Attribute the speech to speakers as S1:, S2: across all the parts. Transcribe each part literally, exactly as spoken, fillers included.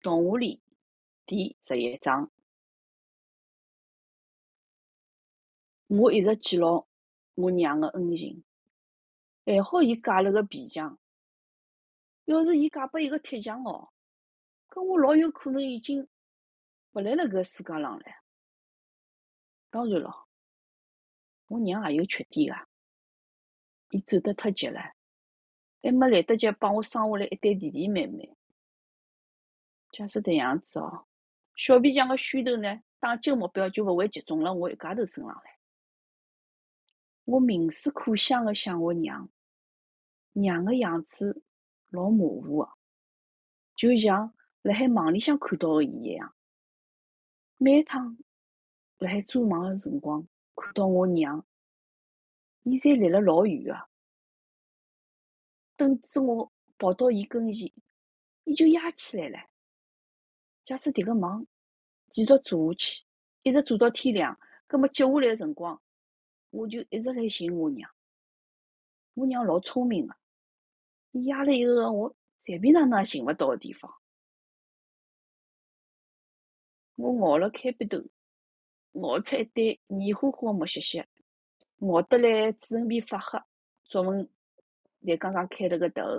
S1: 动物里第十一章。我一直记牢我娘的恩情，还好伊嫁了个皮匠。要是伊嫁拨一个铁匠哦，搿我老有可能已经勿辣辣搿世界上了。当然咯，我娘也有缺点个，伊走得太急了，还没来得及帮我生下来一对弟弟妹妹。假使迭样子哦，小皮匠个虚头呢，打击目标就勿会集中辣我一家头身上了。我冥思苦想个想我娘，娘个样子老模糊个，就像辣海梦里向看到个伊一样。每趟辣海做梦个辰光，看到我娘，伊侪离了老远个。等至我跑到伊跟前，伊就压起来了。假使迭个梦继续做下去，一直做到天亮，葛末接下来个辰光，我就一直来寻我娘。我娘老聪明个，伊压了一个我随便哪能也寻勿到个地方。我咬了开笔头，咬出一堆黏糊糊个木屑屑，咬得来嘴唇皮发黑，作文才刚刚开了个头。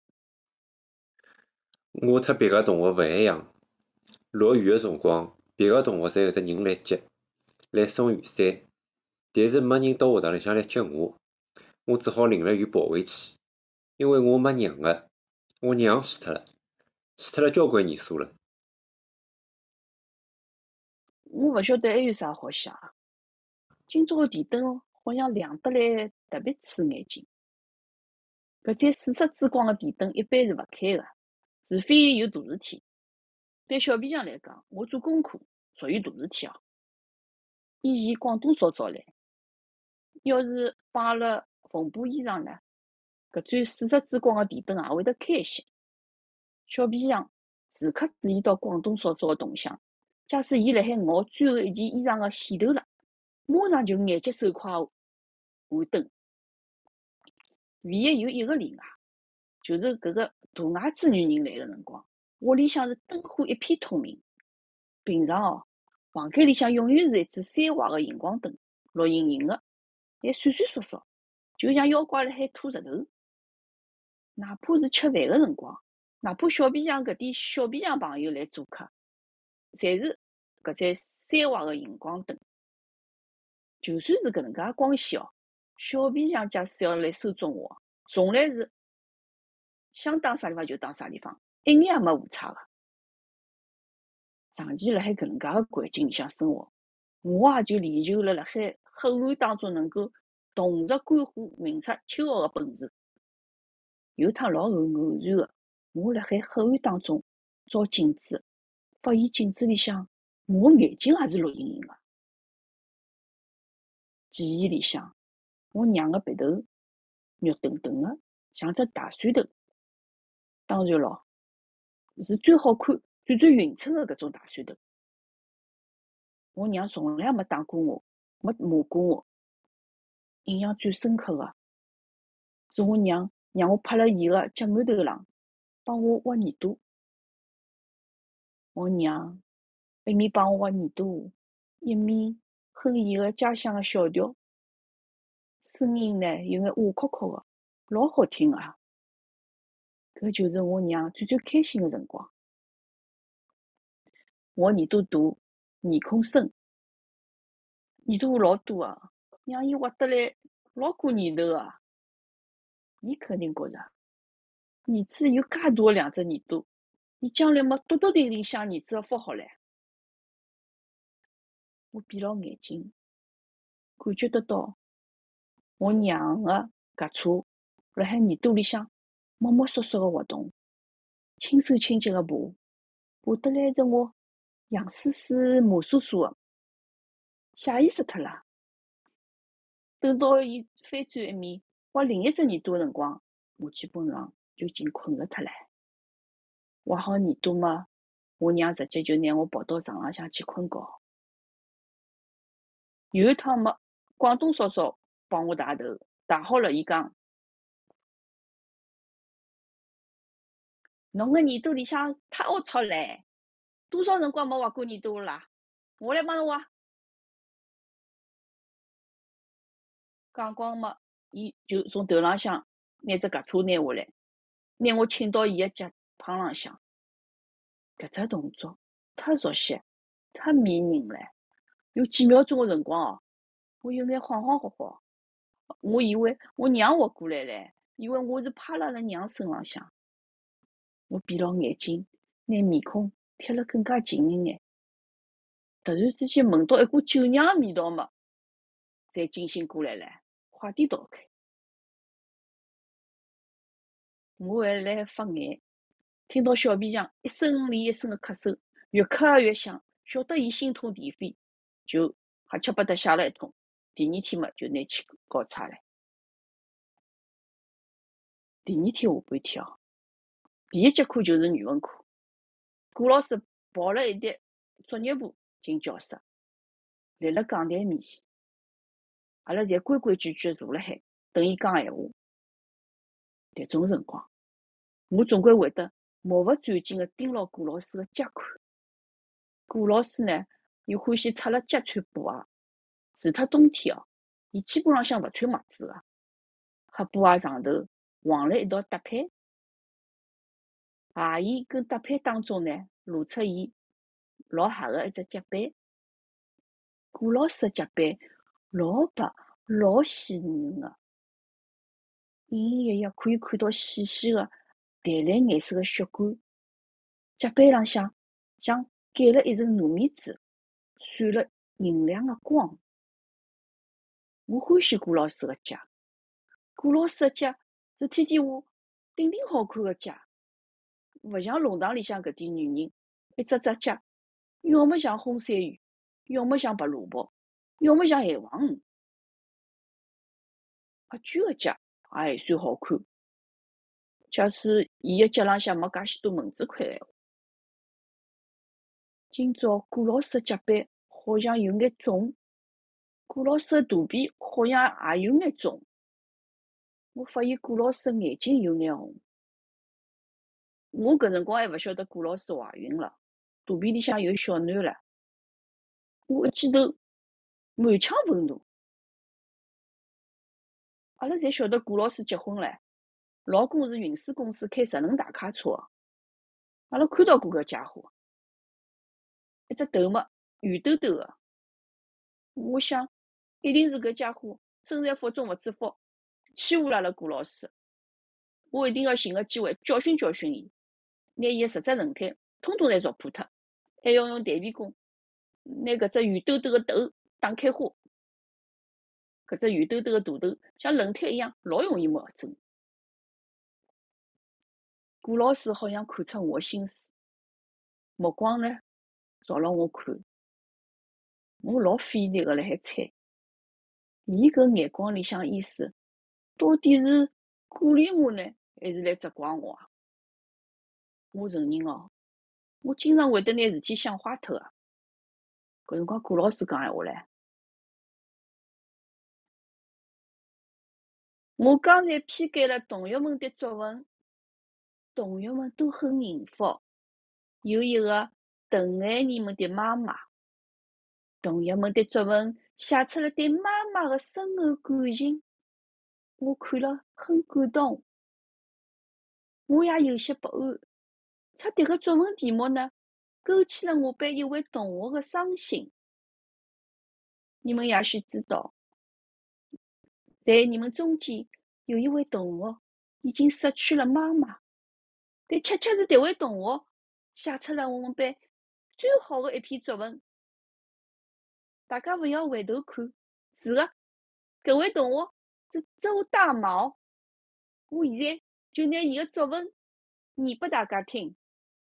S2: 我特别个动物勿一样，落雨个辰光，别个动物侪有得人来接，来送雨伞，但是没人到学堂里向来接我，我只好淋了雨跑回去，因为我没娘个，我娘死脱了，死脱了交关年数了。
S1: 我勿晓得还有啥好写个。今朝个电灯好像亮得来特别刺眼睛。搿盏四色之光个电灯一般是勿开个，除非有大事体。对小皮匠来讲，我做功课属于大事体哦。以前广东嫂嫂来，要是帮阿拉缝补衣裳呢，搿盏四色之光个电灯也会得开一些。小皮匠时刻注意到广东嫂嫂个动向，假使伊辣海咬最后一件衣裳个线头了，马上就眼疾手快换灯。唯一有一个例外，就是搿个大牙子女人来个辰光，屋里向是灯火一片通明。平常哦，房间里向永远是一支三瓦个荧光灯，绿莹莹个，还闪闪烁烁，就像妖怪辣海拖石头。哪怕是吃饭个辰光，哪怕小皮匠搿点小皮匠朋友来做客，侪是搿盏三瓦个荧光灯。就算是搿能介光线哦，小皮匠假使要来收中我，从来是想打啥地方就打啥地方，一眼也没误差个。长期辣海搿能介个环境里向生活，我也就练就了辣海黑暗当中能够同时观火明察秋毫个本事。有趟老偶偶然个，我辣海黑暗当中照镜子，发现镜子里向我眼睛也是绿莹莹个。记忆里向，我娘个鼻头肉墩墩个，像只大蒜头。当然咯，是最好看、最最匀称个搿种大蒜头。我娘从来没打过我，没骂过我。印象最深刻个是我娘让我趴辣伊个脚馒头浪，帮我挖耳朵。我娘一面帮我挖耳朵，一面哼伊个家乡个小调，声音呢有眼哑壳壳个，老好听个。搿就是我娘最最开心个辰光。我耳朵大，面孔深，耳朵老多个，让伊挖得来老过年头个。伊肯定觉着，儿子有介大个两只耳朵，伊将来么笃笃定定享儿子个福好唻。我闭牢眼睛，感觉得到我娘个颏梻辣海耳朵里向摸摸索索个活动，轻手轻脚个爬，爬得来得我痒丝丝、麻酥酥个，吓伊死脱了。等到伊翻转一面挖另一只耳朵个辰光，我基本上就已经困着脱了。挖好耳朵嘛，我娘直接就拿我抱到床浪向去困觉。有一趟么，广东嫂嫂帮我汏头，汏好了，伊讲：“侬个耳朵里向太龌龊唻， 多少辰光没画过耳朵了啦？我来帮侬画。讲光嘛，伊就从头浪向拿只夹车拿下来，拿我请到伊个脚旁浪向。搿只动作太熟悉，太迷人了。有几秒钟个辰光哦，我有眼恍恍惚惚，我以为我娘活过来唻，以为我是趴辣阿拉娘身浪向。我闭牢眼睛，拿面孔贴了更加近一眼，突然之间闻到一股酒酿个味道嘛，才惊醒过来了，快点逃开。我还辣发眼，听到小皮匠一声连一声的咳嗽，越咳越响，晓得伊心痛地飞，就瞎七八搭写了一通。第二天嘛，就拿去交差了。第二天下半天哦，第一节课就是语文课，顾老师抱了一叠作业簿进教室，立辣讲台面前，阿拉侪规规矩矩坐辣海，等伊讲闲话。迭种辰光，我总归会得目不转睛地盯牢顾老师个脚看。顾老师呢，又欢喜出了脚穿布鞋，除脱冬天哦，伊基本浪向勿穿袜子个，黑布鞋上头横了一道搭配，鞋沿跟搭配当中呢，露出伊老黑个一只脚板。顾老师个脚板老白老鲜嫩个，隐隐约约可以看到细细个淡蓝颜色个血管，脚板浪向像盖了一层糯米纸，闪了银亮个光。我欢喜顾老师个脚，顾老师个脚是天天下顶顶好看个脚，勿像弄堂里向搿点女人，一只只脚，要么像红鳝鱼，要么像白萝卜，要么像海王鱼。阿娟个脚也还算好看，假使伊个脚浪向没介许多蚊子块闲话。今朝顾老师个脚板好像有眼肿，顾老师个肚皮好像也有眼肿。我发现顾老师个眼睛有眼红。我搿辰光还勿晓得顾老师怀孕了，肚皮里向有小囡了。我一记头满腔愤怒。阿拉侪晓得顾老师结婚唻，老公是运输公司开直轮大卡车个。阿拉看到过搿家伙，一只头嘛圆兜兜个。我想，一定是搿家伙身材福中勿知福，欺负了阿拉顾老师。我一定要寻个机会教训教训伊，拿伊个十只轮胎统统侪凿破脱，还要用弹皮弓拿搿只圆兜兜个头打开花。搿只圆兜兜个大头像轮胎一样，老容易磨针。顾老师好像看出我心思，目光呢朝牢我看。我老费力个辣海猜，伊搿眼光里向意思，到底是鼓励我呢，还是来责怪我啊？我承认哦，我经常会得拿事体想坏脱个。搿辰光顾老师讲闲话唻，我刚才批改了同学们的作文，同学们都很幸福，有一个疼爱你们的妈妈。同学们的作文写出了对妈妈的深厚感情，我看了很感动。我也有些不安，出迭个作文题目呢，勾起了我被一位同学的伤心。你们也许知道，在你们中间有一位同学已经失去了妈妈，但恰恰是迭位同学写出了我们班最好的一篇作文。大家勿要回头看，是的，搿位同学是周大毛。我现在就拿伊个作文念拨大家听。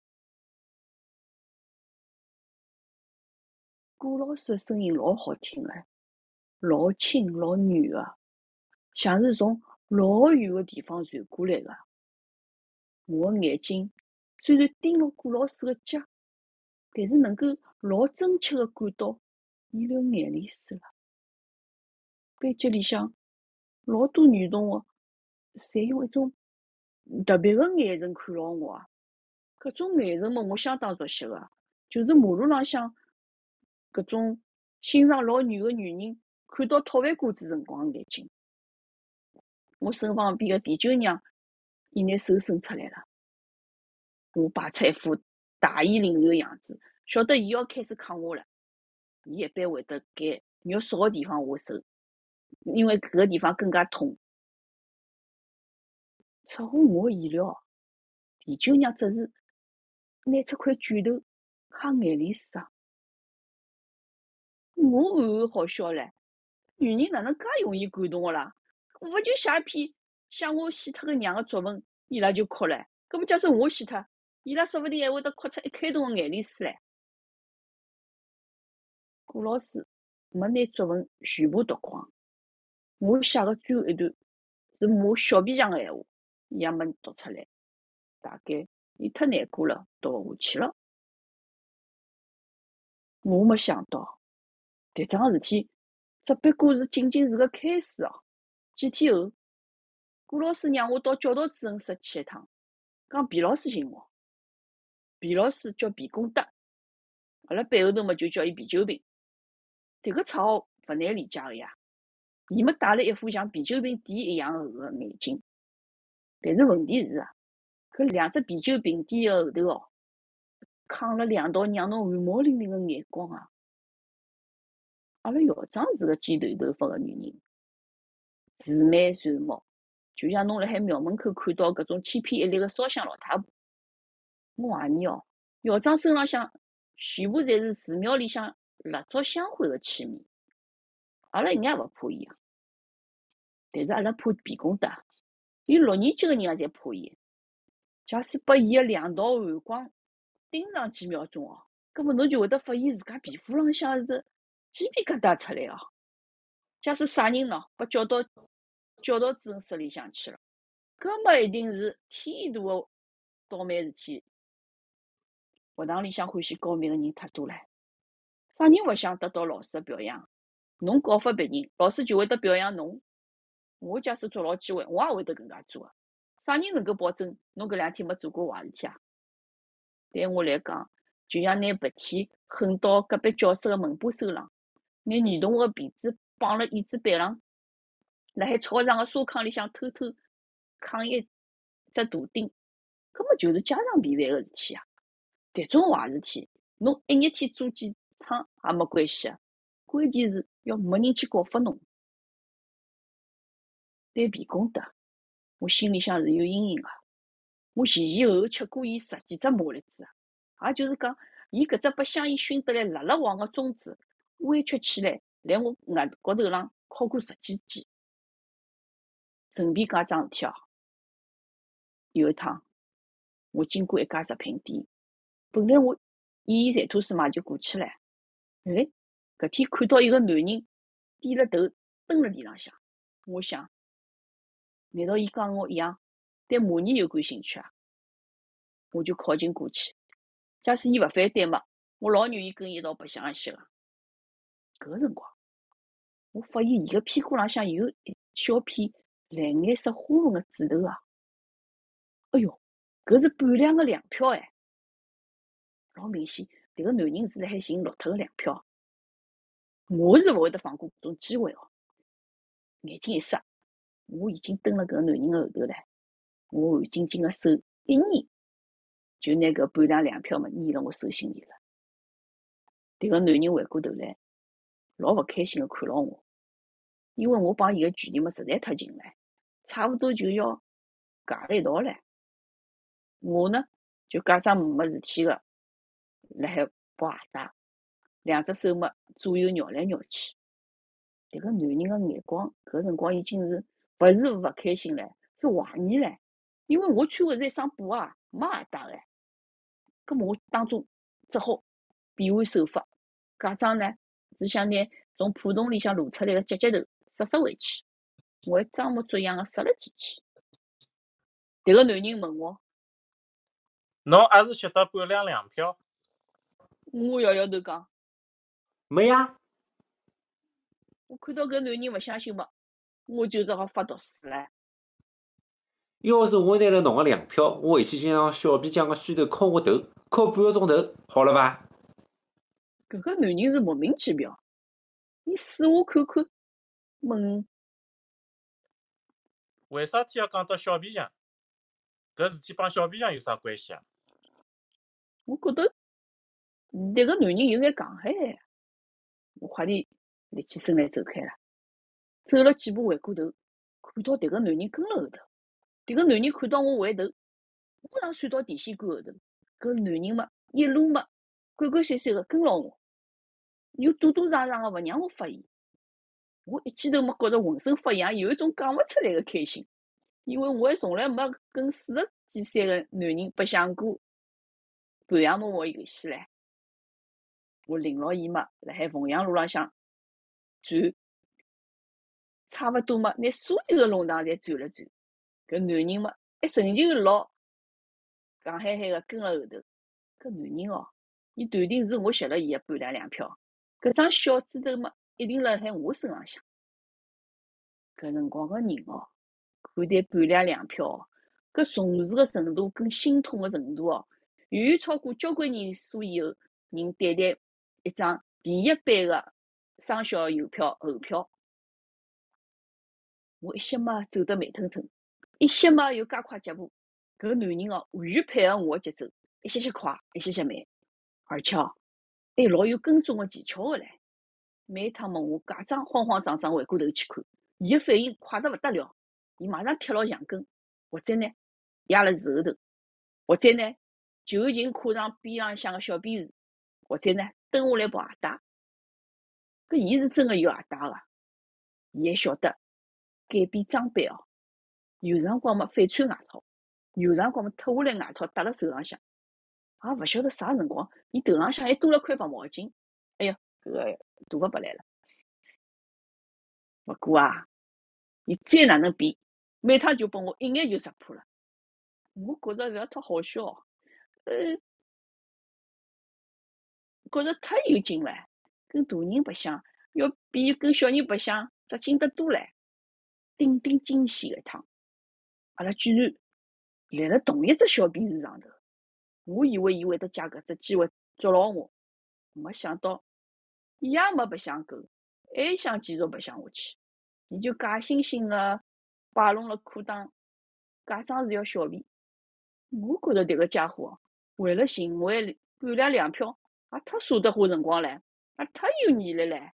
S1: 顾老师的声音老好听个，老轻老软个，像是从老远个地方传过来个。我个眼睛虽然盯牢顾老师个脚，但是能够老真切个感到伊流眼泪水了。班级里向老多女同学侪用一种特别个眼神看牢我啊，搿种眼神嘛，我相当熟悉个， 就是马路浪向搿种心肠老软个女人，看到托饭瓜子辰光个眼睛。我身旁边个地舅娘，伊拿手伸出来了，我摆出一副大义凛然个样子，晓得伊要开始抗我了。伊一般会得拣肉少个地方下手，因为搿个地方更加痛。出乎我意料，地舅娘只是拿出块卷头揩眼里水啊！我暗暗好笑唻，女人哪能介容易感动个啦？勿就写一篇想我死脱个娘个作文，伊拉就哭唻。搿么假使我死脱，伊拉说勿定还会得哭出一开洞个眼泪水唻。顾老师没拿作文全部读光，我写个最后一段是骂小皮匠个闲话，伊也没读出来。大概伊太难过了，读勿下去了。我没想到，迭桩事体只不过是仅仅是个开始哦。几天后，顾老师让我到教导主任室去一趟，讲皮老师寻我。皮老师叫皮公德，阿拉背后头嘛就叫伊皮酒瓶。迭个绰号勿难理解个呀。伊么戴了一副像啤酒瓶底一样厚个眼镜，但是问题是啊，搿两只啤酒瓶底个后头哦，扛了两道让侬汗毛淋淋个眼光啊！阿拉校长是个剪短头发个女人，慈眉善目，就像侬辣海庙门口看到搿种千篇一律个烧香老太婆。我怀疑哦，校长身浪向全部侪是寺庙里向蜡烛香灰个气味。阿拉一眼也勿怕伊啊，但是阿拉怕皮公德，连六年级个人也侪怕伊。假使拨伊个两道寒光盯上几秒钟哦，葛末侬就会得发现自家皮肤浪向是鸡皮疙瘩出来哦。假使啥人喏，被叫到教导主任室里向去了，搿么一定是天大个倒霉事体。学堂里向欢喜告密个人太多唻，啥人勿想得到老师个表扬？侬告发别人，老师就会得表扬侬。我假使捉牢机会，我也会得搿能介做个。啥人能够保证侬搿两天没做过坏事体啊？对我来讲，就像拿白天狠到隔壁教室个门把手浪，拿女同学个鼻子绑辣椅子板浪，辣海操场个沙坑里向偷偷扛一只大钉，搿么就是家常便饭个事体啊！迭种坏事体，侬一日天做几趟也没关系啊，关键是要没人去告发侬。对皮公德，我心里向是有阴影个。我前前后后吃过伊十几只麻栗子啊，也就是讲，伊搿只被香烟熏得来辣辣黄个中指，弯曲起来，辣我额高头浪敲过十几记。顺便讲桩事体哦，有一趟我经过一家食品店，本来我演演馋吐司嘛就过去了，哎，搿天看到一个男人低了头蹲辣地浪向，我想，难道伊讲我一样对马尼有感兴趣啊？我就靠近过去，假使伊勿反对嘛，我老愿意跟伊一道白相一歇个。搿个辰光，我发现伊个屁股浪向有一小片蓝颜色花纹个痣头啊！哎哟，搿是半两个粮票哎！老明显，迭个男人是辣海寻落脱个粮票。我是勿会得放过搿种机会哦。眼睛一眨，我已经蹲辣搿个男人个后头唻。我汗津津个手一捏，就拿搿半两粮票嘛捏辣我手心里了。迭个男人回过头来，老勿开心个看牢我，因为我帮伊个距离嘛实在太近了，差勿多就要夹了一道唻。我呢就假装没事体个，辣海剥鞋带，两只手嘛左右绕来绕去。迭个男人个眼光，搿辰光已经是勿是勿开心唻，是怀疑唻，因为我穿个是一双布鞋，没鞋带个。葛末我当中只好变换手法，假装呢是想拿从裤筒里向露出来个脚脚头塞塞回去，我还装模作样个塞了进去。迭个男人问我，
S3: 侬也是晓得半两粮票？
S1: 我摇摇头讲，
S2: 没呀。
S1: 我看到搿男人勿相信嘛，我就只好发毒誓唻。
S2: 要是我拿了侬个粮票，我回去就让小皮匠个须头敲我头，敲半个钟头，好了伐？
S1: 搿个男人是莫名其妙，伊试我看看，问
S3: 为啥体要讲到小皮匠？搿事体帮小皮匠有啥关系啊？
S1: 我觉得迭个男人有眼戆海海。我快点立起身来走开了，走了几步回过头，看到迭个男人跟了后头。迭个男人看到我回头，马上闪到电线杆后头。搿男人嘛，一路嘛，鬼鬼祟祟个跟牢我，又躲躲藏藏个勿让我发现。我一记头嘛，觉着浑身发痒，有一种讲勿出来个开心，因为我还从来没跟四十几岁个男人白相过半夜摸摸游戏唻。我领牢伊嘛，辣海凤阳路浪向转，差勿多嘛，拿所有个弄堂侪转了转。搿男人嘛，还仍旧老戆海海个跟了后头。搿男人哦，伊断定是我吸了伊个半两粮票，搿张小指头嘛，一定辣海我身浪向。搿辰光个人哦，看待半两粮票哦，搿重视个程度跟心痛个程度哦，远远超过交关年数以后人对待一张第一班个双小邮票后票。我一歇嘛走得慢腾腾，一歇嘛又加快脚步。搿男人哦，完全配合我个节奏，一歇歇快，一歇歇慢，而且哦，还老有跟踪个技巧个唻。每趟嘛，我假装慌慌张张回过头去看，伊个反应快得勿得了。伊马上贴牢墙根，或者呢压辣树后头，或者呢就近跨上边浪向个小便池，或者呢蹲下来抱鞋带。搿伊是真个有鞋带个，伊还晓得改变装备哦。有辰光嘛反穿外套，有辰光嘛脱下来外套戴辣手浪向，也勿晓得啥辰光，伊头浪向还多了块白毛巾。哎呀，搿个大个白来了。勿过啊，伊再哪能变，每趟就拨我一眼就识破了。我觉着勿要太好笑哦，呃，觉着太有劲了。跟大人白相要比跟小人白相扎劲得多唻。顶顶惊喜个一趟，阿拉居然立辣同一只小便池上头。我以为伊会得借搿只机会捉牢我，没想到伊也没白相够，还想继续白相下去。伊就假惺惺个摆弄了裤裆，假装是要小便。我觉着迭个家伙为了寻回半两粮票，也太舍得花辰光唻，也太有毅力唻。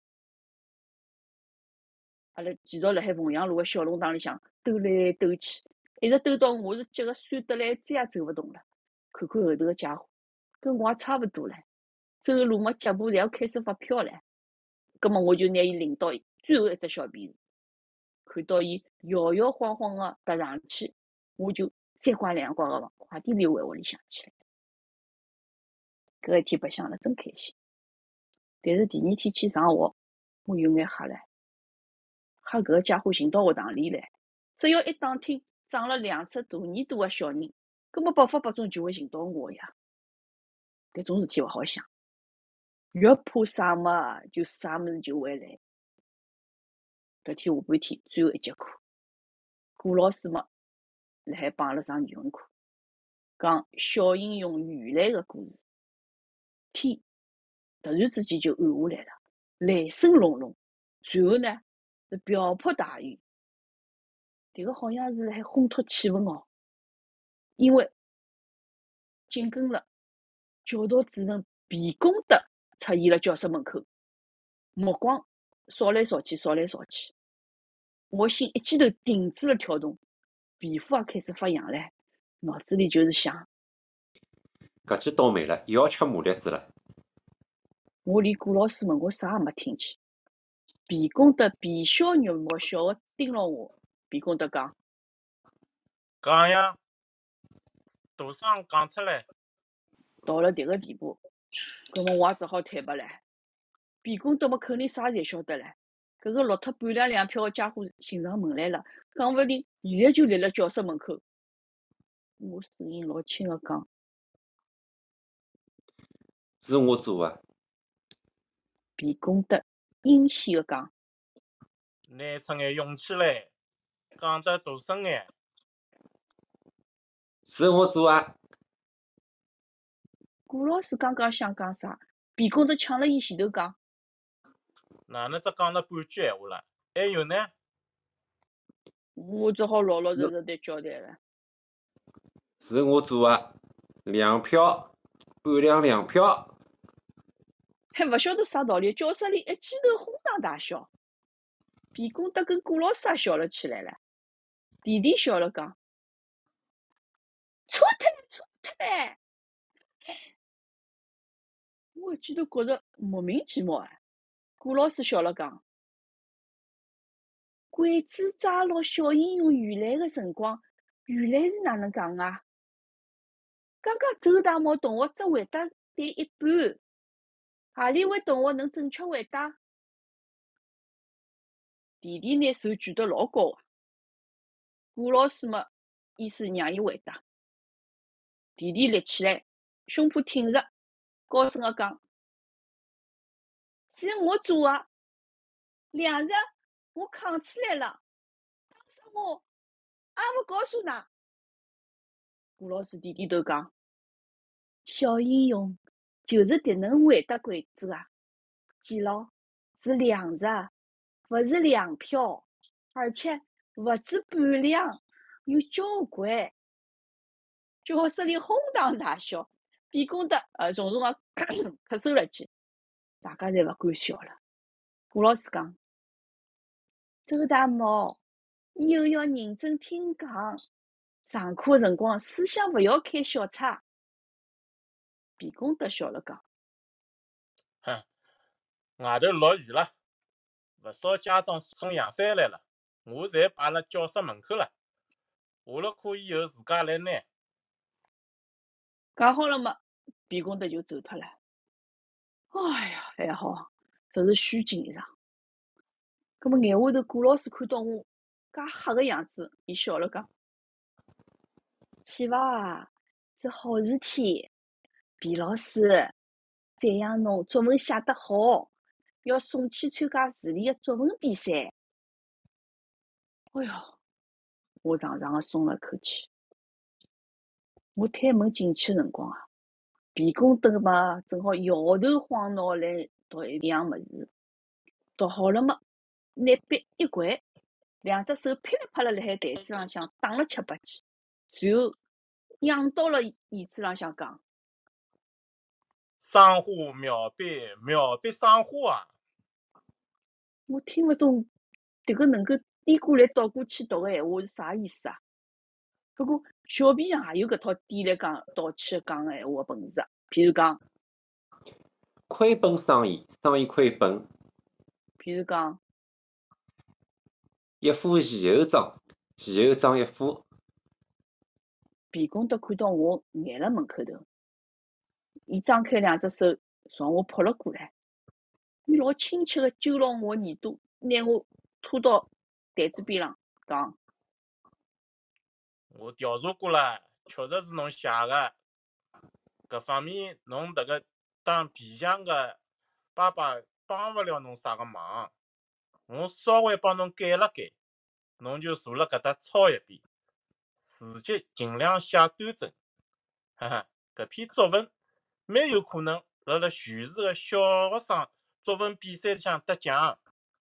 S1: 阿拉继续辣海凤阳路个小弄堂里向兜来兜去，一直兜到我是急个酸得来，再也走勿动了。看看后头个家伙，跟我也差勿多唻，走路嘛脚步侪要开始发飘唻。葛末我就拿伊领到最后一只小便池，看到伊摇摇晃晃个踏上去，我就三拐两拐个快点溜回屋里向去了。搿一天白相了真开心，但是第二天去上学，我有眼吓唻，吓搿个家伙寻到学堂里来，只要一打听长了两尺大耳朵个小人，葛末百发百中就会寻到我呀。搿种事体勿好想，越怕啥嘛，就啥物事就会来。搿天下半天最后一节课，顾老师嘛辣海帮阿拉上语文课，讲小英雄鱼雷个故事。天突然之间就暗下来了，雷声隆隆，随后呢是瓢泼大雨。迭个好像是辣海烘托气氛哦，因为紧跟了教导主任皮公德出现了教室门口，目光扫来扫去，扫来扫去。我心一记头停止了跳动，皮肤也开始发痒唻，脑子里就是想：
S2: 搿记倒霉了，又要吃麻栗子了。
S1: 我连顾老师问我啥也没听见。皮公德皮笑肉目笑个盯牢我。皮公德讲：
S3: 讲呀，大声讲出来。
S1: 到了迭个地步，搿么我也只好坦白唻。皮公德么肯定啥侪晓得唻。搿个落脱半两粮票个家伙寻上门来了，讲勿定现在就立辣教室门口。我声音老轻个讲：
S2: 是我做个。
S1: 皮公德阴险个讲：
S3: 拿出眼勇气来，讲得大声眼。
S2: 是我做个。
S1: 顾老师刚刚想讲啥， 皮公头抢了伊前头讲，
S3: 哪能只讲了半句闲话了？还有呢？
S1: 我只好老老实实地交代了。
S2: 是我做的，粮票，半两粮票。
S1: 还勿晓得啥道理，教室里一记头哄堂大笑。皮公头跟顾老师也笑了起来了。弟弟笑了讲：“错脱了，错脱了！”我一记头觉着莫名其妙啊。顾老师笑了讲：“鬼子抓牢小英雄原来的辰光，原来是哪能讲啊？刚刚周大茂同学只回答对一半，何里位同学能正确回答？”弟弟拿手举得老高啊。顾老师嘛，意思让伊回答。弟弟立起来，胸脯挺着，高声个讲：“是我做的，两日我扛起来了，当时我也勿告诉㑚。”顾老师点点头讲：“小英雄就是迭能回答鬼子个，记牢，是两日，勿是粮票，而且勿止半两，有交关。”教室里哄堂大笑，皮公头呃重重个咳嗽了记，大家侪勿敢笑了。顾老师讲：“周大茂，以后要认真听讲，上课辰光思想勿要开小差。”皮公头笑了讲：“
S3: 哼，外头落雨了，勿少家长送阳伞来了，我侪摆辣教室门口了。下了课以后自家来拿。”
S1: 讲好了嘛，皮公头就走脱了。哎呀，还好，这是虚紧张。葛末眼下头顾老师看到我介黑个样子，伊笑了讲：“去伐，是好事体。皮老师赞扬侬作文写得好，要送去参加市里个作文比赛。”哎哟，我长长个松了口气。我推门进去个辰光啊，皮公头嘛正好摇头晃脑来读一样物事，读好了嘛，拿笔一掼，两只手噼里啪啦辣海台子浪向打了七八记，随后仰到了椅子浪向讲：“
S3: 赏花妙笔，妙笔赏花啊！”
S1: 我听勿懂迭个能够颠过来倒过去读个闲话是啥意思啊？不过小皮匠也有搿套颠来讲倒去讲个闲话个本事啊。譬如讲，
S2: 亏本生意，生意亏本。
S1: 譬如讲，
S2: 一副前后装，前后装一副。
S1: 皮公头看到我眼辣门口头，伊张开两只手朝我扑了过来，伊老亲切个揪牢我耳朵，拿我拖到台子边浪，讲：“
S3: 我调查过了，确实是侬写个。搿方面侬迭个当皮匠个爸爸帮勿了侬啥个忙，我稍微帮侬改了改，侬就坐辣搿搭抄一遍，字迹尽量写端正。哈哈，搿篇作文蛮有可能辣辣全市个小学生作文比赛里向得奖。”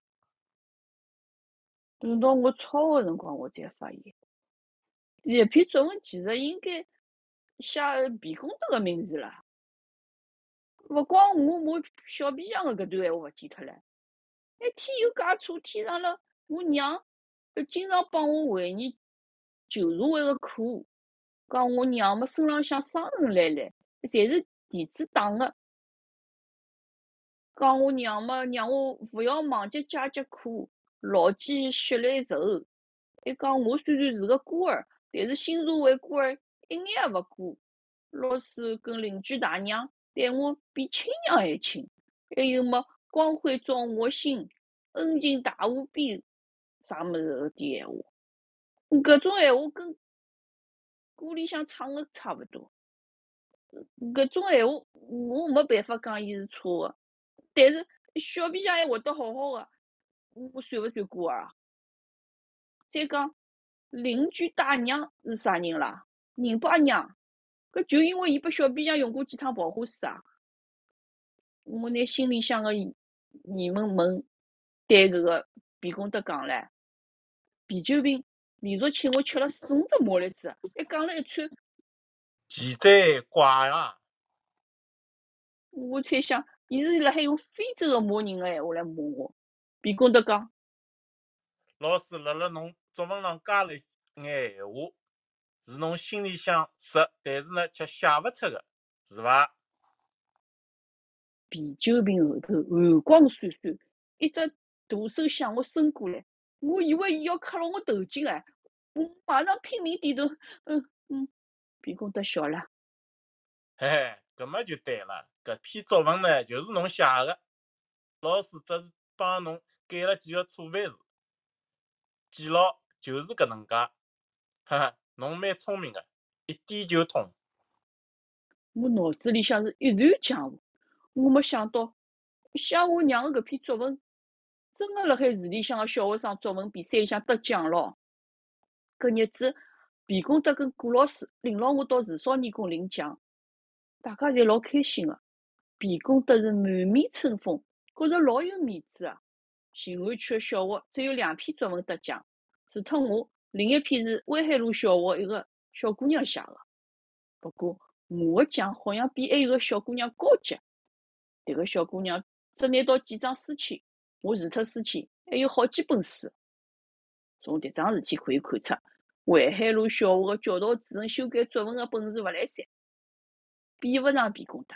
S1: 等到我抄个辰光，我才发现，搿篇作文其实应该写皮公头个名字啦。勿光我，我小皮匠个搿段闲话勿记脱了，还添油加醋添上了我娘经常帮我回忆旧社会个课，讲我娘么身浪向伤痕累累，侪是弟子打个。讲我娘么让我勿要忘记家节课，牢记血泪仇。还讲我虽然是个孤儿，但是新社会孤儿一眼也勿过。老师跟邻居大娘待我比亲娘还亲。还有么光辉照我心，恩情大无边，啥物事搿点闲话。搿种闲话跟歌里向唱个差勿多。搿种闲话我没办法讲伊是错个，但是小皮匠还活得好好个，我算勿算孤儿啊？再讲邻居大娘是啥人啦？人爸娘，搿就因为伊拨小皮匠用过几趟跑火水啊。 我拿心里向个疑疑问问对搿个皮公德讲唻，皮酒瓶连续请我吃了四五只马栗子，还讲了一串。
S3: 奇哉怪啊！
S1: 我猜想，伊是辣海用非洲个骂人个闲话来骂我。皮公德讲，
S3: 老师辣辣侬作文上加了一眼闲话，是侬心里想识，但是呢却写勿出个，是伐？
S1: 啤酒瓶后头寒光闪闪，一只大手向我伸过来，我以为伊要磕牢我头颈哎，我马上拼命点头，嗯嗯。皮公德笑了，
S3: 嘿嘿，搿么就对了，搿篇作文呢就是侬写个，老师只是帮侬改了几个错别字，记牢就是搿能介。哈哈，侬蛮聪明个，一点就通。
S1: 我脑子里向是一团浆糊，我没想到写我娘个搿篇作文，真个辣海市里向个小学生作文比赛里向得奖咯。搿日子，皮公德跟顾老师领牢我到市少年宫领奖，大家侪老开心个。皮公德是满面春风，觉着老有面子啊。静安区个小学只有两篇作文得奖，除脱我，另一篇是威海路小学一个小姑娘写个。不过我个奖好像比还有个小姑娘高级。迭个小姑娘只拿到几张书签，我除脱书签还有好几本书。从迭桩事体可以看出，淮海路小学个教导主任修改作文个本事勿来三，比勿上皮公德。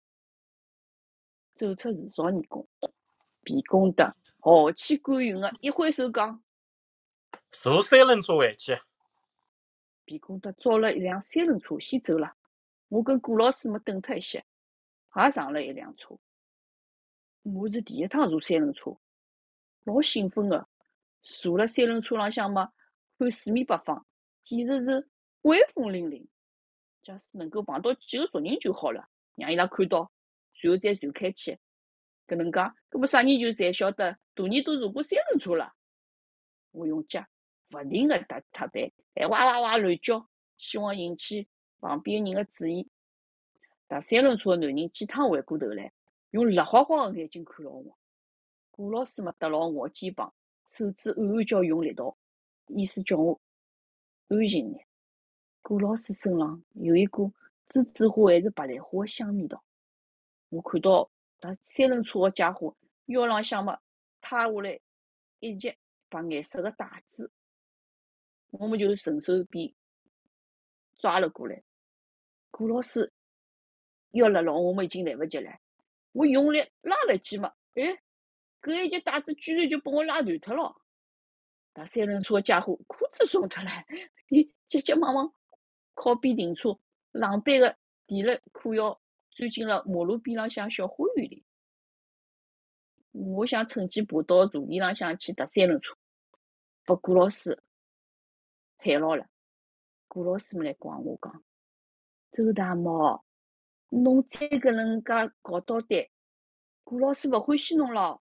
S1: 走出市少年宫，皮公德豪气干云个一挥手讲：“
S3: 坐三轮车回去。”
S1: 皮公德招了一辆三轮车先走了。我跟顾老师没等脱一歇，也上了一辆车。我是第一趟坐三轮车，老兴奋个。坐了三轮车浪向嘛，看四面八方，简直是威风凛凛。假使能够碰到几个熟人就好了，让伊拉看到，随后再传开去。搿能介，搿么啥人就侪晓得大人都坐过三轮车了。我用脚勿停个踏踏板，还哇哇哇乱叫，希望引起旁边人个注意。踏三轮车个男人几趟回过头来，用辣花花个眼睛看牢我。顾老师嘛搭牢我肩膀，手指暗暗叫用力道，意思叫我安静眼。顾老师身浪有一股栀子花还是白莲花个香味道。我看到踏三轮车个家伙腰浪向嘛塌下来一截白颜色个带子，我们就顺手便抓了过来。顾老师要勒牢我们已经来勿及了，我用力拉了一记嘛，哎，搿一截带子居然就把我拉断脱了。踏三轮车个家伙裤子松脱了，伊急急忙忙靠边停车，狼狈个提了裤腰，钻进了马路边浪向小花园里。我想趁机爬到茶地浪向去踏三轮车，被顾老师喊牢了。顾老师们来管我讲：“周大毛，侬再搿能介搞捣蛋，顾老师勿欢喜侬咯。”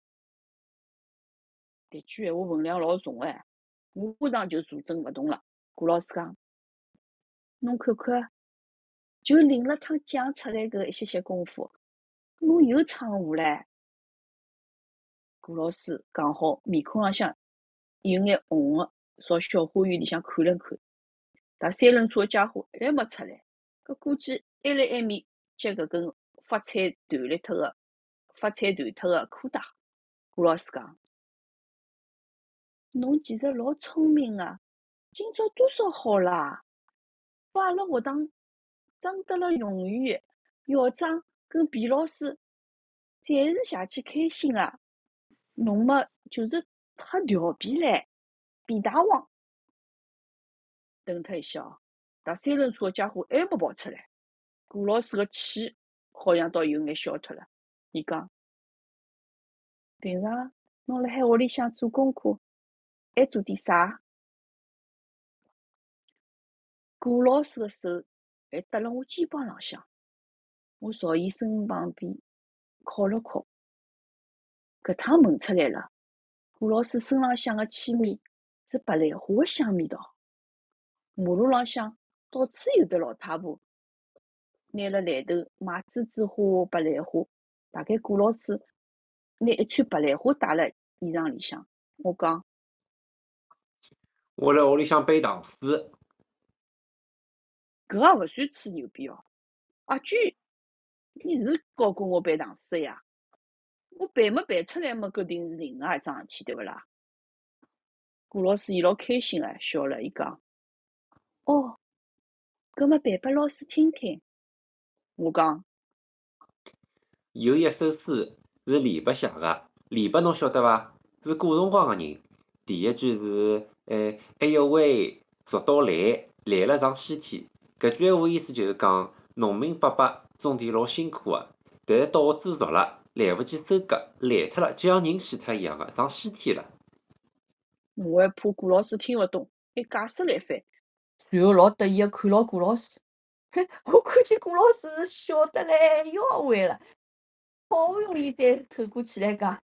S1: 迭句闲话分量老重哎，我马上就坐正勿动了。顾老师讲：“侬看看，就领了趟奖出来搿一歇歇功夫，侬又闯祸唻。”顾老师讲好，面孔浪向有眼红个，朝小花园里向看了看。踏三轮车个家伙还没出来，搿估计还辣埃面接搿根发彩断裂脱个、发彩断脱个裤带。顾老师讲：“侬其实老聪明个，今朝多少好啦？把阿拉学堂争得了荣誉，校长跟皮老师侪是邪气开心个。侬嘛就是太调皮唻，皮大王。”等脱一歇哦，踏三轮车个家伙还没跑出来。顾老师个气好像倒有眼消脱了。伊讲：“平常侬辣海屋里向做功课，还做点啥？”顾老师个手还搭辣我肩膀浪向，我朝伊身旁边靠了靠。搿趟闻出来了，顾老师身浪向个气味是白莲花个香味道。马路浪向到处有的老太婆拿了篮头卖栀子花、白莲花， 大概顾老师拿一串白兰花带辣衣裳里向。我讲，
S2: 我辣屋里向背唐诗，
S1: 搿也勿算吹牛逼哦。阿娟，你是教过我背唐诗的呀？我背没背出来嘛，搿定是另外一桩事体，对勿啦？顾老师伊老开心个，笑了，伊讲：“哦，搿么背拨老师听听。”我讲：
S2: 有一首诗是李白写个，李白侬晓得伐？是古辰光个人。第一句是，呃，哎哟喂，蜀道来，来了上西天。搿句闲话意思就是讲，农民伯伯种田老辛苦个，但是稻子熟了，来勿及收割，烂脱了，就像人死脱一样个，上西天了。
S1: 我还怕顾老师听勿懂，还解释了一番，随后老得意个看牢顾老师。嘿，我看见顾老师是笑得来腰弯了，好不容易才透过气来讲：“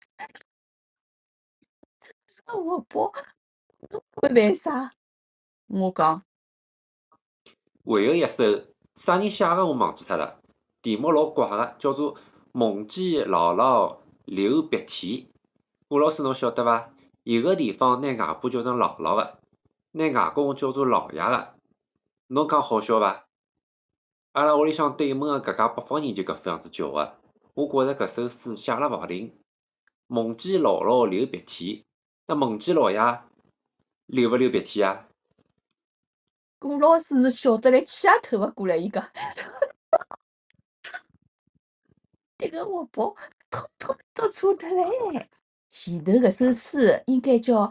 S1: 真是个活宝，侬会背啥？”我讲：
S2: 还有一首啥人写个我忘记脱了，题目老怪个，叫做《梦见姥姥流鼻涕》。顾老师侬晓得伐？有个地方拿外婆叫成姥姥个，拿外公叫做老爷个，侬讲好笑伐？阿拉屋里向对门个搿家北方人就搿副样子叫个，我觉着搿首诗写了勿好听。梦见姥姥流鼻涕，那梦见老爷流勿流鼻涕啊？
S1: 顾老师是笑得来气也透勿过来，伊讲：“迭个活宝通通都错脱唻。前头搿首诗应该叫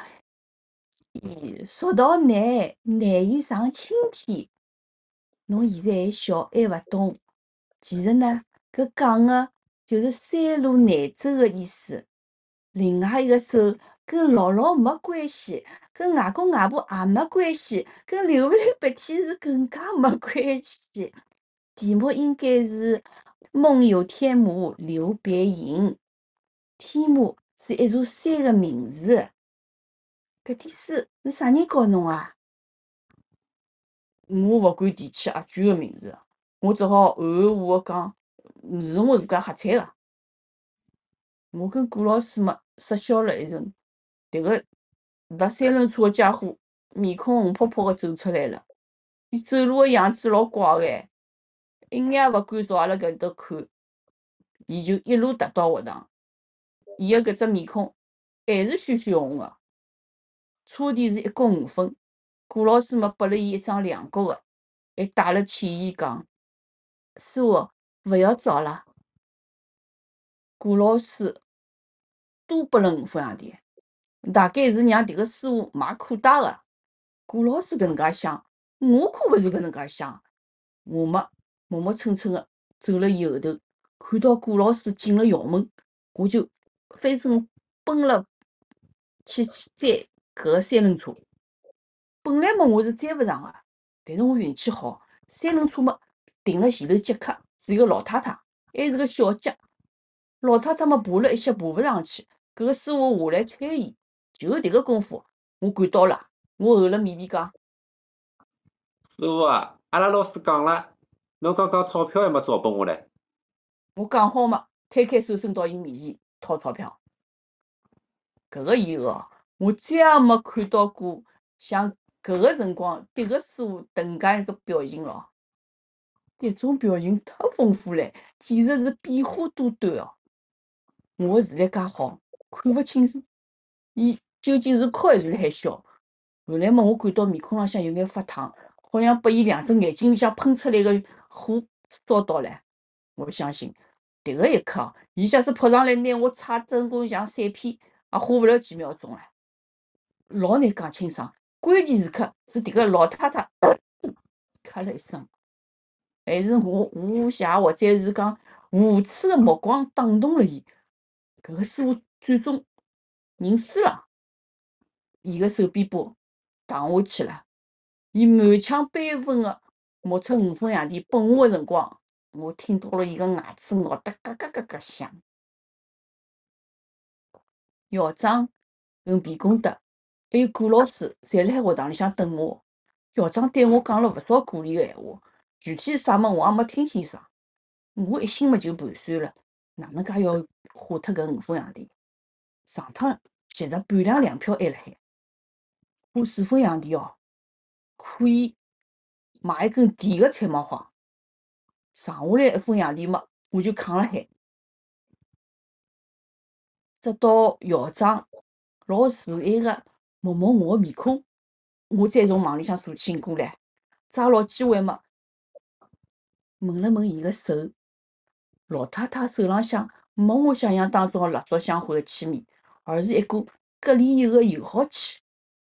S1: 《蜀道难，难于上青天》。侬现在还小，还勿懂。其实呢，搿讲个就是山路难走个意思。另外一个首跟姥姥没关系，跟外公外婆也没关系，跟流勿流鼻涕是更加没关系。题目应该是“梦有天母流别影”，天母是一座山个名字。搿点书是啥人教侬啊？我勿敢提起阿娟个名字，我只好含含糊糊个讲是我自家瞎猜个。我跟顾老师嘛失笑了一阵，迭个踏三轮车个家伙面孔红扑扑个走出来了，伊走路个样子老怪个哎，一眼也勿敢朝阿拉搿搭看，伊就一路踏到学堂，伊个搿只面孔还是鲜鲜红个。车钿是一角五分，顾老师嘛拨了伊一张两角个，还带了歉意讲：“师傅，勿要找了。”顾老师多拨了五分洋钿，大概是让迭个师傅买裤带个。顾老师搿能介想，我可勿是搿能介想。我嘛磨磨蹭蹭个走了伊后头，看到顾老师进了校门，我就飞身奔了去追搿个三轮车。本来嘛我是追勿上个，但是我运气好，三轮车嘛停了前头接客，是一个老太太，还是个小姐。老太太嘛爬了一歇爬勿上去，搿个师傅下来搀伊，就迭个功夫，我赶到了。我厚了面皮讲：“
S2: 师傅啊，阿拉老师讲了，侬刚刚钞票还没找拨我唻。”
S1: 我讲好嘛，摊开手伸到伊面前掏钞票。搿个以后哦，我再也没看到过像搿个辰光迭个师傅迭能介一只表情咯。迭种表情太丰富唻，简直是变化多端哦。我个视力介好，看勿清楚伊究竟是哭还是辣海笑。后来嘛，我感到面孔浪向有眼发烫，好像拨伊两只眼睛里向喷出来个火烧到唻。我相信迭个一刻哦，伊假使扑上来拿我踩真功像闪片，也花勿了几秒钟唻。老难讲清爽，关键时刻是迭个老太太咳了一声，还是我无暇或者是讲无耻个目光打动了伊。搿个师傅最终认输了，伊个手臂把躺下去了。伊满腔悲愤个摸出五分洋钿拨我个辰光，我听到了伊个牙齿咬得咯咯咯咯响。校长跟皮公德还有顾老师侪辣海学堂里向等我。校长对我讲了勿少鼓励个闲话，具体是啥么我也没听清爽。我一心嘛就盘算了， 哪能介要花脱搿五分洋钿？上趟其实半辆粮票还辣海，花四分洋钿哦，可以买一根甜个菜毛花，剩下来一分洋钿嘛，我就扛辣海。直到校长老慈爱个摸摸我个面孔，我再从网里向坐起过来，抓牢机会嘛，闻了闻伊个手，老太太手浪向没我想象当中个蜡烛香灰个气味，而是一股隔离油个油耗气。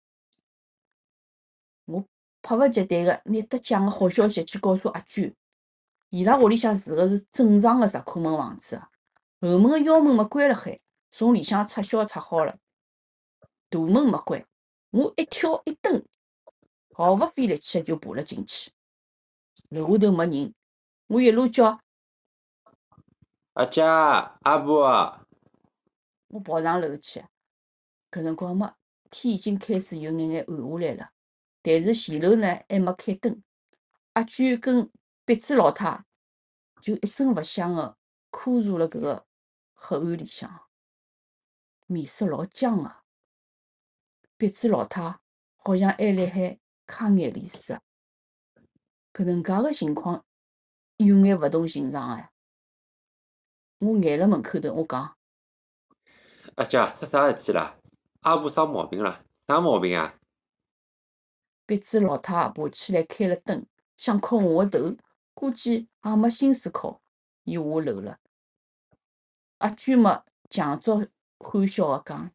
S1: 我迫不及待个拿得奖个好消息去告诉阿娟，伊拉屋里向住个是正常个石库门房子，后门个腰门嘛关辣海，从里向拆销拆好了，大门没关。我一跳一蹬，毫不费力气个就爬了进去。楼下头没人，我一路叫
S2: 阿姐、阿婆，
S1: 我跑上楼去。搿辰光嘛，天已经开始有眼眼暗下来了，但是前楼呢还没开灯。阿娟跟别子老太就一声勿响个枯坐辣搿个黑暗里向，面色老僵个。别子老太好像还辣海揩眼泪水个。搿能介个情况有眼勿同寻常哎。我挨辣门口头，我讲
S2: 阿姐出啥事体啦？阿婆生毛病啦？啥毛病啊？
S1: 别子老太爬起来开了灯，想敲我个头，估计也没心思敲，伊下楼了。阿娟嘛，强作欢笑个讲：“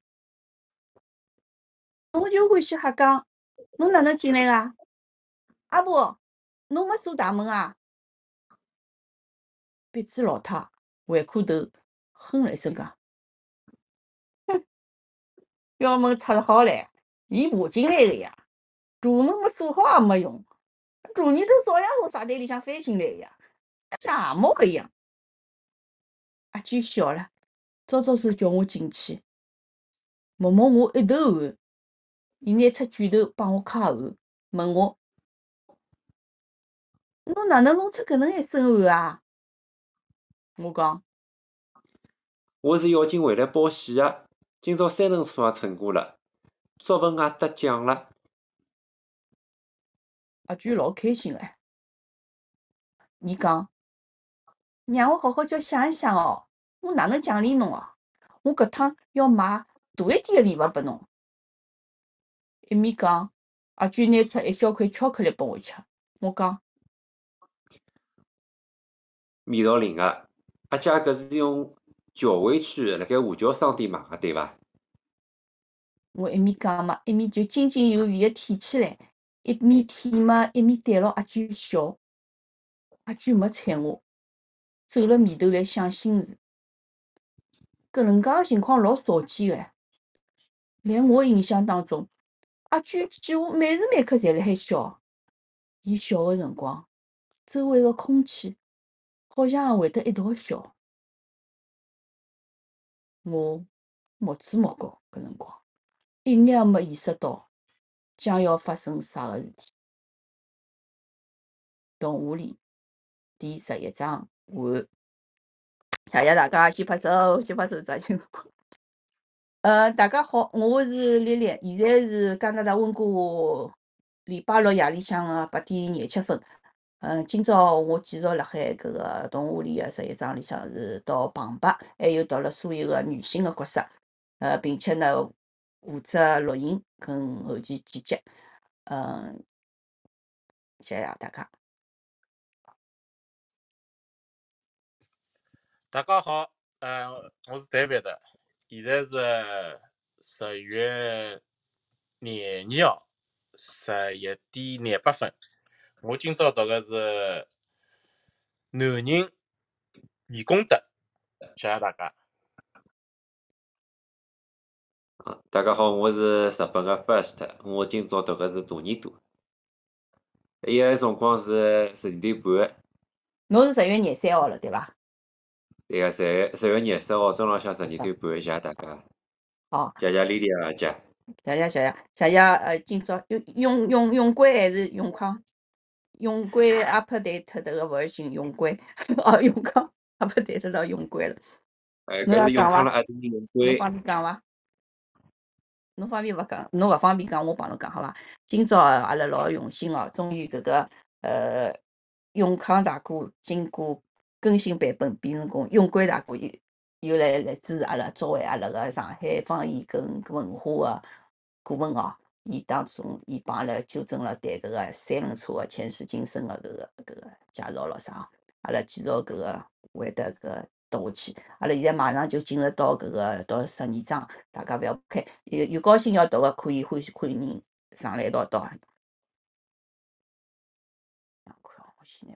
S1: 我就欢喜瞎讲，侬哪能进来个？阿婆，侬没锁大门啊？”别子老太回过头，哼了一声讲：“哼，要门拆好唻，伊爬进来个呀。大门没锁好也没用，大年头照样从茶台里向翻进来呀，像鞋毛一样。”阿娟笑了，招招手叫我进去，摸摸我一头汗。伊拿出卷头帮我揩汗，问我：“侬哪能弄出搿能一身汗啊？”我讲：“
S2: 我是要紧回来报喜个，今朝三轮车也乘过了，作文也得奖了。”
S1: 阿娟老开心个，伊讲：“让我好好叫想一想哦，我哪能奖励侬哦？我搿趟要买大一点个礼物拨侬。”一面讲，阿娟拿出一小块巧克力拨我吃。我讲：“
S2: 味道灵个，阿姐搿是用搅回去辣盖华侨商店买个对伐？”
S1: 我一面讲嘛，一面就津津有味个舔起来，一面舔嘛，一面对牢阿娟笑。阿娟没睬我，皱了眉头来想心事。搿能介个情况老少见个，辣我印象当中，阿娟几乎每时每刻侪辣海笑。伊笑个辰光，周围个空气好像也会得一道笑。我目珠目高，搿辰光一眼也没意识到将要发生啥个事体。动物里第十一章完。谢谢大家，先拍手，先拍手，抓紧辰光。呃，大家好，我是丽丽，现在是加拿大温哥华礼拜六夜里向个八点廿七分。嗯，今朝我继续辣海搿个动画里个十一章里向是到旁白，还有读了所有个女性个角色，呃，并且呢负责录音跟后期剪辑。嗯，谢谢大家。
S3: 大家好，呃，我是 David，现在是十月廿二号十一点廿八分。我今朝读个是男人义工德，谢谢大家。
S2: 啊，大家好，我是日本个 First，我今朝读个是大耳朵。伊个辰光是十二点半，
S1: 侬是十月廿三号了，对伐？
S2: 对个，十月十月廿四号中浪向十二点半，谢谢大家。
S1: 好，
S2: 谢谢丽丽阿姐。
S1: 谢谢谢谢谢谢。呃，今朝用用用用龟还是用康？用龟 update 迭个 version 用龟，哦，用康 update 到用龟了。
S2: 哎，
S1: 侬要
S2: 搿是永
S1: 讲伐？
S2: 康了阿弟永
S1: 侬
S2: 贵，
S1: 方便讲伐？侬方便勿讲？侬勿方便讲，我帮侬讲好伐？今朝阿拉老用心哦，终于搿个呃永康大哥经过更新版本变成功，永贵大哥又又来来支持阿拉，作为阿拉个上海方言跟文化个顾问哦。伊当中伊帮阿拉纠正了对搿个三轮车个前世今生个搿个搿个介绍咯啥哦，阿拉继续搿个会得搿个读下去。阿拉现在马上就进入到搿个到十二章，大家勿要开，有有高兴要读个可以欢喜看人上来一道读啊。看我现在